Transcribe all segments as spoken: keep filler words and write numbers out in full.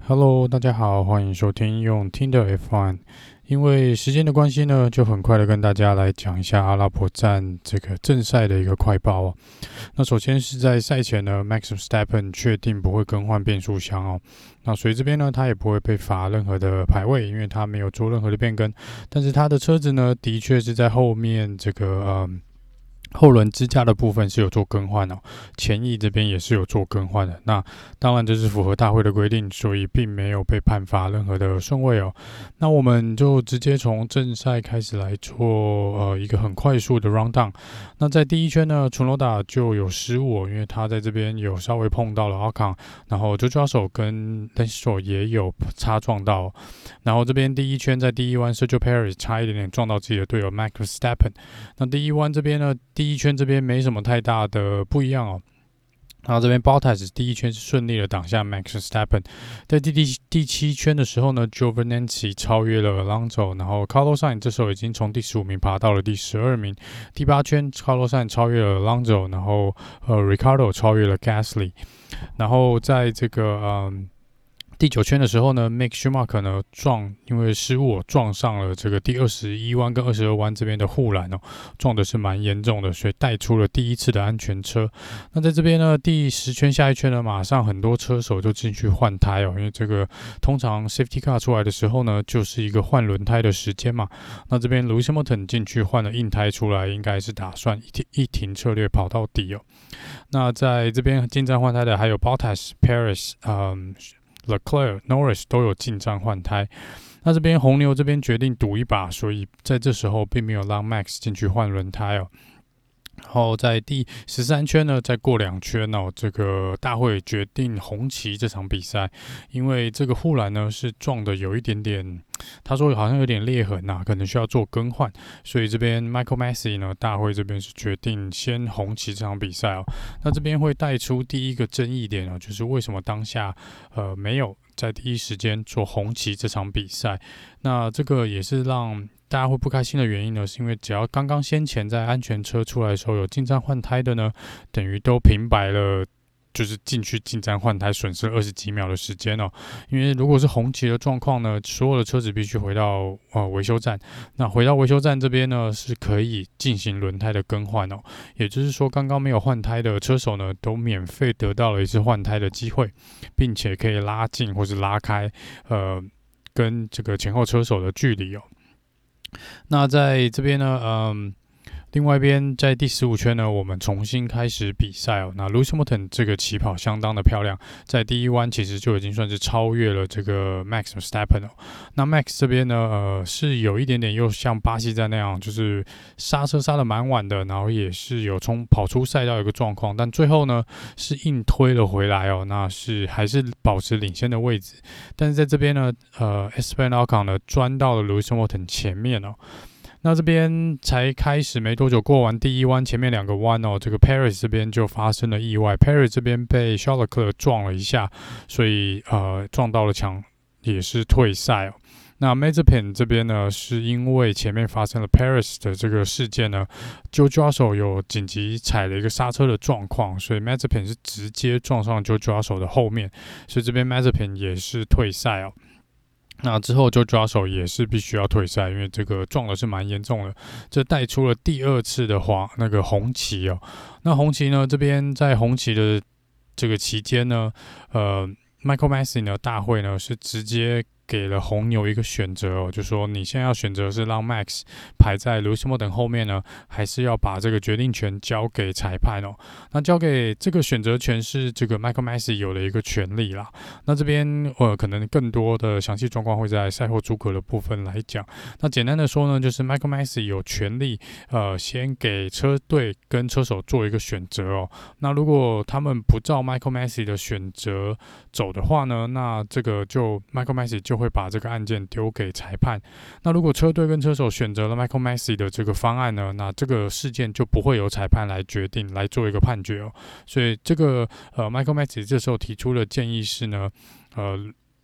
Hello， 大家好，歡迎收聽用聽的 F 一。因為時間的關係呢，就很快的跟大家來講一下阿拉伯站這個正賽的一個快報哦。那首先是在賽前呢 ，Max Verstappen 確定不會更換變速箱哦。那所以這邊呢，他也不會被罰任何的排位，因為他沒有做任何的變更。但是他的車子呢，的確是在後面這個嗯。後輪支架的部分是有做更換哦，前翼這邊也是有做更換的。那當然這是符合大會的規定，所以並沒有被判罰任何的順位哦。那我們就直接從正賽開始來做呃一個很快速的 round down。那在第一圈呢，楚諾達就有失誤哦，因為他在這邊有稍微碰到了奧康，然後周抓手跟 Lance Stroll 也有擦撞到哦。然後這邊第一圈在第一彎 Sergio Perez 差一點點撞到自己的隊友 Max Verstappen。那第一彎這邊呢，第一圈這邊沒什麼太大的不一樣哦，然後這邊 Bottas 第一圈是順利的擋下 Max Verstappen， 在第第第七圈的時候呢 Giovinazzi 超越了 Alonso， 然後 Carlos Sainz 這時候已經從第十五名爬到了第十二名，第八圈 Carlos Sainz 超越了 Alonso， 然後呃 Ricardo 超越了 Gasly， 然後在這個嗯。第九圈的時候呢 ，Mick Schumacher 呢撞，因為失誤撞上了這個第二十一彎跟二十二彎這邊的護欄哦，撞的是蠻嚴重的，所以帶出了第一次的安全車。那在這邊呢，第十圈下一圈呢，馬上很多車手就進去換胎哦，因為這個通常 Safety Car 出來的時候呢，就是一個換輪胎的時間嘛。那這邊 Lewis Hamilton 進去換了硬胎出來，應該是打算一停一停策略跑到底哦。那在這邊進站換胎的還有 Bottas、Perez， 嗯。Leclerc、Norris 都有進站換胎，那這邊紅牛這邊決定賭一把，所以在這時候並沒有讓 Max 進去換輪胎哦。然後在第十三圈呢，再過兩圈哦，這個大會決定紅旗這場比賽，因為這個護欄呢是撞的有一點點，他說好像有點裂痕啊，可能需要做更換，所以這邊 Michael Masi 呢，大會這邊是決定先紅旗這場比賽哦。那這邊會帶出第一個爭議點哦，就是為什麼當下呃沒有在第一時間做紅旗這場比賽？那這個也是讓大家會不開心的原因呢，是因為只要剛剛先前在安全車出來的時候有進站換胎的呢，等於都平白了，就是進去進站換胎損失了二十幾秒的時間哦。因為如果是紅旗的狀況呢，所有的車子必須回到呃維修站，那回到維修站這邊呢是可以進行輪胎的更換哦。也就是說，剛剛沒有換胎的車手呢，都免費得到了一次換胎的機會，並且可以拉近或是拉開呃跟這個前後車手的距離哦。那在這邊呢，嗯，另外一邊在第十五圈呢，我們重新開始比賽哦。那 Lewis Hamilton 這個起跑相當的漂亮，在第一彎其實就已經算是超越了這個 Max Verstappen 哦。那 Max 這邊呢，呃，是有一點點又像巴西站那樣，就是剎車剎得蠻晚的，然後也是有衝跑出賽道一個狀況，但最後呢是硬推了回來哦，那是還是保持領先的位置。但是在這邊呢，呃 Esteban Ocon 呢鑽到了 Lewis Hamilton 前面哦。那這邊才開始沒多久，過完第一彎，前面兩個彎哦，這個 Perez 這邊就發生了意外 ，Perez 這邊被 Charles Leclerc 撞了一下，所以呃撞到了牆，也是退賽哦。那 Mazepin 這邊呢，是因為前面發生了 Perez 的這個事件呢，就抓手有緊急踩了一個剎車的狀況，所以 Mazepin 是直接撞上就抓手的後面，所以這邊 Mazepin 也是退賽哦。那之後就抓手也是必須要退賽，因為這個撞的是蠻嚴重的，這帶出了第二次的黃那個紅旗哦。那紅旗呢，這邊在紅旗的這個期間呢，呃 ，Michael Masi 呢，大會呢是直接給了紅牛一個選擇哦，就說你現在要選擇是讓 Max 排在 Lewis Hamilton 後面呢，還是要把這個決定權交給裁判哦？那交給這個選擇權是這個 Michael Masi 有的一個權利啦。那這邊呃可能更多的詳細狀況會在賽後諸葛的部分來講。那簡單的說呢，就是 Michael Masi 有權利呃先給車隊跟車手做一個選擇哦。那如果他們不照 Michael Masi 的選擇走的話呢，那這個就 Michael Masi 就會把這個案件丟給裁判。那如果車隊跟車手選擇了 Michael Masi 的這個方案呢，那這個事件就不會由裁判來決定來做一個判決哦。所以這個呃 Michael Masi 這時候提出的建議是呢，呃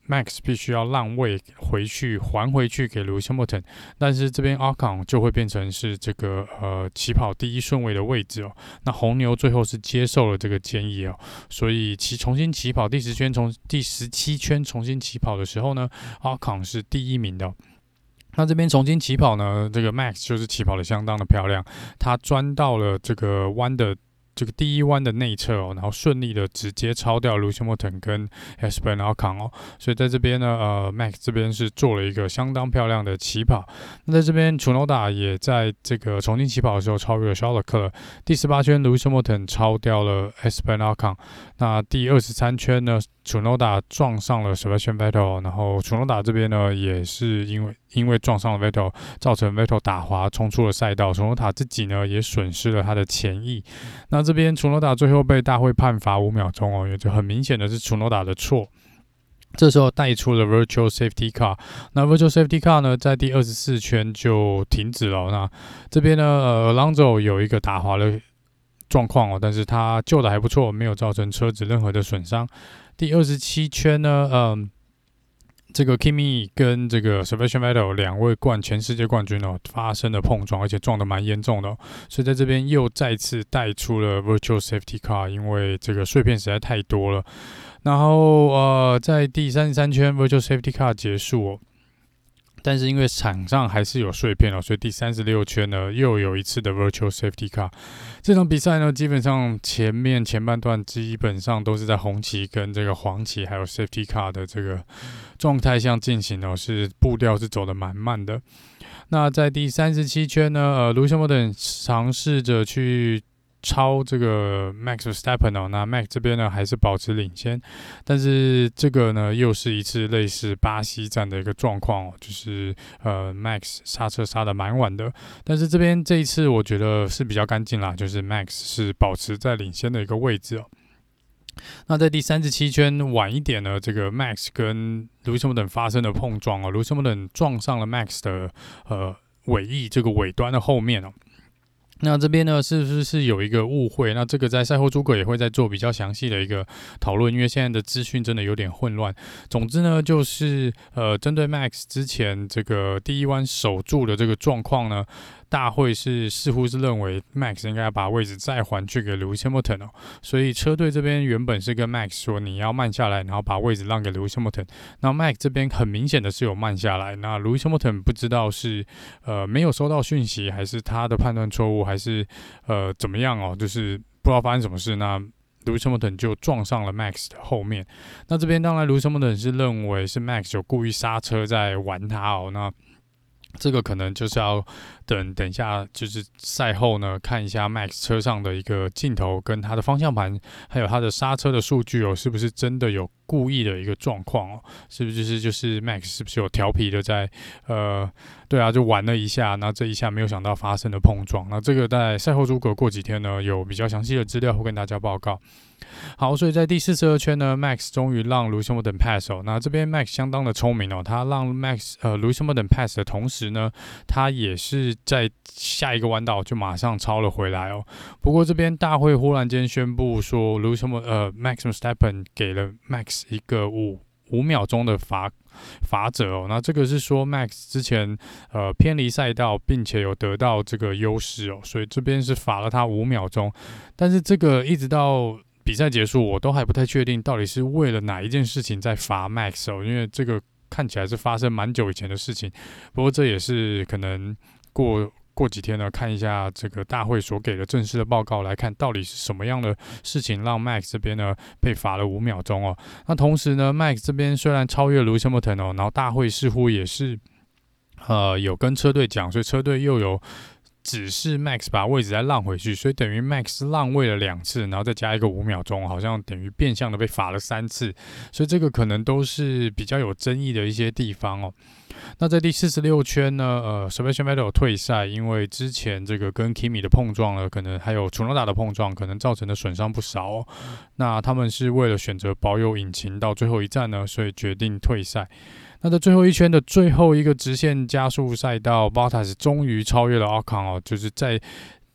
Max 必須要讓位回去，還回去給 Lewis Hamilton， 但是這邊 Ocon 就會變成是這個呃起跑第一順位的位置哦。那紅牛最後是接受了這個建議哦，所以其重新起跑第十圈，從第十七圈重新起跑的時候呢 ，Ocon 是第一名的哦。那這邊重新起跑呢，這個 Max 就是起跑的相當的漂亮，他鑽到了這個彎的。這個第一彎的內側哦，然後順利的直接超掉 Lewis Hamilton 跟 Esteban Ocon 哦，所以在這邊呢，呃 ，Max 這邊是做了一個相當漂亮的起跑。那在這邊 Tsunoda 也在這個重新起跑的時候超越了 Charles Leclerc。第十八圈 Lewis Hamilton 超掉了 Esteban Ocon。那第二十三圈呢 ，Tsunoda 撞上了 Sebastian Vettel， 然後 Tsunoda 這邊呢也是因為因為撞上了 Vettel， 造成 Vettel 打滑衝出了賽道。Tsunoda 自己呢也損失了他的前翼。那這邊 Tsunoda 最後被大會判罰五秒鐘哦，也就很明顯的是 Tsunoda 的錯。這時候帶出了 Virtual Safety Car， 那 Virtual Safety Car 呢，在第二十四圈就停止了。那這邊呢，呃 Alonso 有一個打滑的狀況哦，但是他救的還不錯，沒有造成車子任何的損傷。第二十七圈呢，嗯、呃。這個 Kimi 跟這個 Sebastian Vettel 兩位冠全世界冠軍哦發生了碰撞，而且撞得蠻嚴重的、哦，所以在這邊又再次帶出了 Virtual Safety Car， 因為這個碎片實在太多了。然後呃，在第三十三圈 Virtual Safety Car 結束哦。但是因為場上還是有碎片哦，所以第三十六圈呢又有一次的 Virtual Safety Car。這場比賽呢，基本上前面前半段基本上都是在紅旗跟這個黃旗還有 Safety Car 的這個狀態下進行哦，是步調是走得蠻慢的。那在第三十七圈呢，呃，Lewis Hamilton嘗試着去超這個 Max Verstappen 哦，那 Max 這邊呢還是保持領先，但是這個呢又是一次類似巴西站的一個狀況哦，就是呃 Max 剎車剎得蠻晚的，但是這邊這一次我覺得是比較乾淨啦，就是 Max 是保持在領先的一個位置哦。那在第三十七圈晚一點呢，這個 Max 跟 Lewis Hamilton 發生了碰撞哦，Lewis Hamilton 撞上了 Max 的呃尾翼這個尾端的後面哦。那這邊呢，是不是是有一個誤會？那這個在賽後諸葛也會再做比較詳細的一個討論，因為現在的資訊真的有點混亂。總之呢，就是呃，針對 Max 之前這個第一彎守住的這個狀況呢，大會是似乎是認為 Max 應該要把位置再還去給 Lewis Hamilton 哦，所以車隊這邊原本是跟 Max 說你要慢下來，然後把位置讓給 Lewis Hamilton。那 Max 這邊很明顯的是有慢下來，那 Lewis Hamilton 不知道是呃沒有收到訊息，還是他的判斷錯誤，還是呃怎麼樣哦，就是不知道發生什麼事。那 Lewis Hamilton 就撞上了 Max 的後面。那這邊當然 Lewis Hamilton 是認為是 Max 有故意剎車在玩他哦，那這個可能就是要等等一下，就是賽後呢，看一下 Max 車上的一個鏡頭，跟他的方向盤，還有他的剎車的數據哦，是不是真的有故意的一個狀況哦？是不是就是就是 Max 是不是有調皮的在呃，對啊，就玩了一下，那這一下沒有想到發生了碰撞。那這個在賽後諸葛過幾天呢，有比較詳細的資料會跟大家報告。好，所以在第四十二圈呢 ，Max 終於讓 Lewis Hamilton pass 哦。那這邊 Max 相當的聰明哦，他讓 Max 呃 Lewis Hamilton pass 的同時呢，他也是在下一個彎道就馬上超了回來哦。不過這邊大會忽然間宣布說 Lewis Hamilton 呃 Max Verstappen 給了 Max 一個五五秒鐘的罰罰則哦。那這個是說 Max 之前呃偏離賽道，並且有得到這個優勢哦，所以這邊是罰了他五秒鐘。但是這個一直到比賽結束，我都還不太確定到底是為了哪一件事情在罰 Max 哦，因為這個看起來是發生蠻久以前的事情。不過這也是可能過過幾天呢，看一下這個大會所給的正式的報告來看，到底是什麼樣的事情讓 Max 這邊呢被罰了五秒鐘哦。那同時呢 ，Max 這邊雖然超越了 Lewis Hamilton 哦，然後大會似乎也是呃有跟車隊講，所以車隊又有只是 Max 把位置再讓回去，所以等於 Max 讓位了兩次，然後再加一個五秒鐘，好像等於變相的被罰了三次，所以這個可能都是比較有爭議的一些地方哦。那在第四十六圈呢，呃 Sebastian Vettel 退賽，因為之前這個跟 Kimi 的碰撞呢，可能還有 Tsunoda 的碰撞，可能造成的損傷不少哦。那他們是為了選擇保有引擎到最後一站呢，所以決定退賽。那在最後一圈的最後一個直線加速賽道 ，Bottas 終於超越了 Ocon 哦，就是在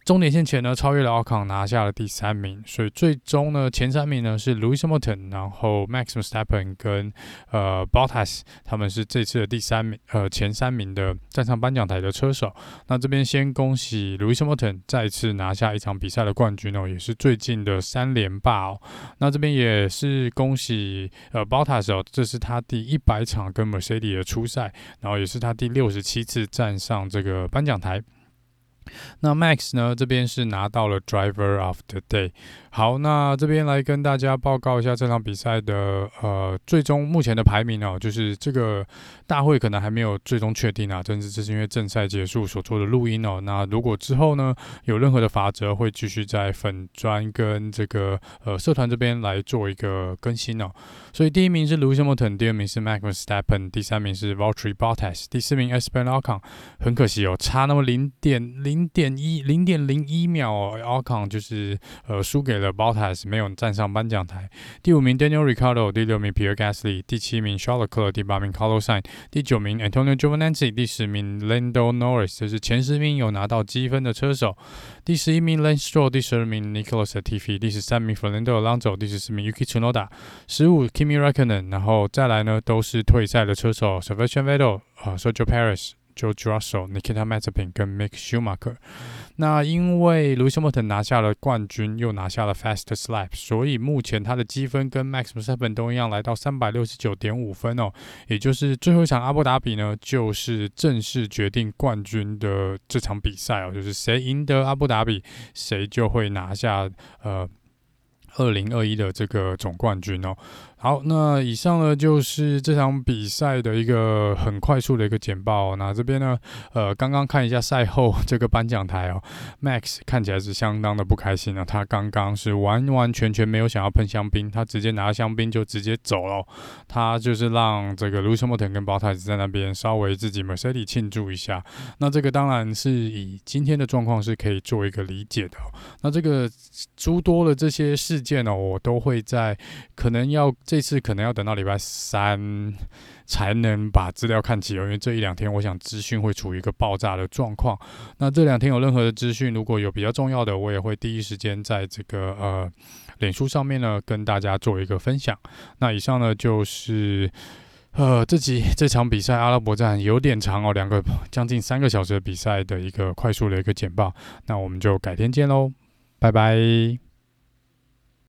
終點線前呢，超越了奧康，拿下了第三名。所以最終呢，前三名呢是 Lewis Hamilton， 然後 Max Verstappen 跟呃 Bottas， 他們是這次的第三名，呃前三名的站上頒獎台的車手。那這邊先恭喜 Lewis Hamilton 再次拿下一場比賽的冠軍哦，也是最近的三連霸哦。那這邊也是恭喜呃 Bottas 哦，這是他第一百場跟 Mercedes 的出賽，然後也是他第六十七次站上這個頒獎台。那 Max 呢，這邊是拿到了 Driver of the Day。好，那這邊來跟大家報告一下這場比賽的呃最終目前的排名哦，就是這個大會可能還沒有最終確定啊，甚至這是因為正賽結束所做的錄音哦。那如果之後呢有任何的法則，會繼續在粉專跟這個呃社團這邊來做一個更新哦。所以第一名是 Lewis Hamilton， 第二名是 Max Verstappen， 第三名是 Valtteri Bottas， 第四名 Esteban Ocon。很可惜哦，差那麼零點零點一零點零一秒哦 ，Ocon 就是呃輸給了 Bottas， 沒有站上頒獎台。第五名 Daniel Ricciardo， 第六名 Pierre Gasly， 第七名 Charles Leclerc， 第八名 Carlos Sainz， 第九名 Antonio Giovinazzi， 第十名 Lando Norris， 這是前十名有拿到積分的車手。第十一名 Lance Stroll， 第十二名 Nicolas Latifi， 第十三名 Fernando Alonso， 第十四名 Yuki Tsunoda， 十五 Kimi Räikkönen， 然後再來呢都是退賽的車手 Sebastian Vettel、Sergio Perez、George Russell、Nikita Mazepin 跟 Mick Schumacher。那因為 Lewis Hamilton 拿下了冠軍，又拿下了 Fastest Lap， 所以目前他的積分跟 Max Verstappen 都一樣，來到 三百六十九點五 分哦。也就是最後一場阿布達比呢，就是正式決定冠軍的這場比賽哦，就是誰贏得阿布達比，誰就會拿下呃二零二一的這個總冠軍哦。好，那以上呢就是這場比賽的一個很快速的一個簡報哦。那這邊呢，呃，剛剛看一下賽後這個頒獎台哦 ，Max 看起來是相當的不開心啊。他剛剛是完完全全沒有想要噴香檳，他直接拿香檳就直接走了。他就是讓這個 Lewis Hamilton 跟 Bottas 在那邊稍微自己 Mercedes 慶祝一下。那這個當然是以今天的狀況是可以做一個理解的哦。那這個諸多的這些事件哦，我都會在可能要。這次可能要等到禮拜三才能把資料看齊哦，因為這一兩天我想資訊會處於一個爆炸的狀況。那這兩天有任何的資訊，如果有比較重要的，我也會第一時間在這個呃臉書上面呢跟大家做一個分享。那以上呢就是呃這集這場比賽阿拉伯站有點長哦，兩個將近三個小時的比賽的一個快速的一個簡報。那我們就改天見嘍，拜拜。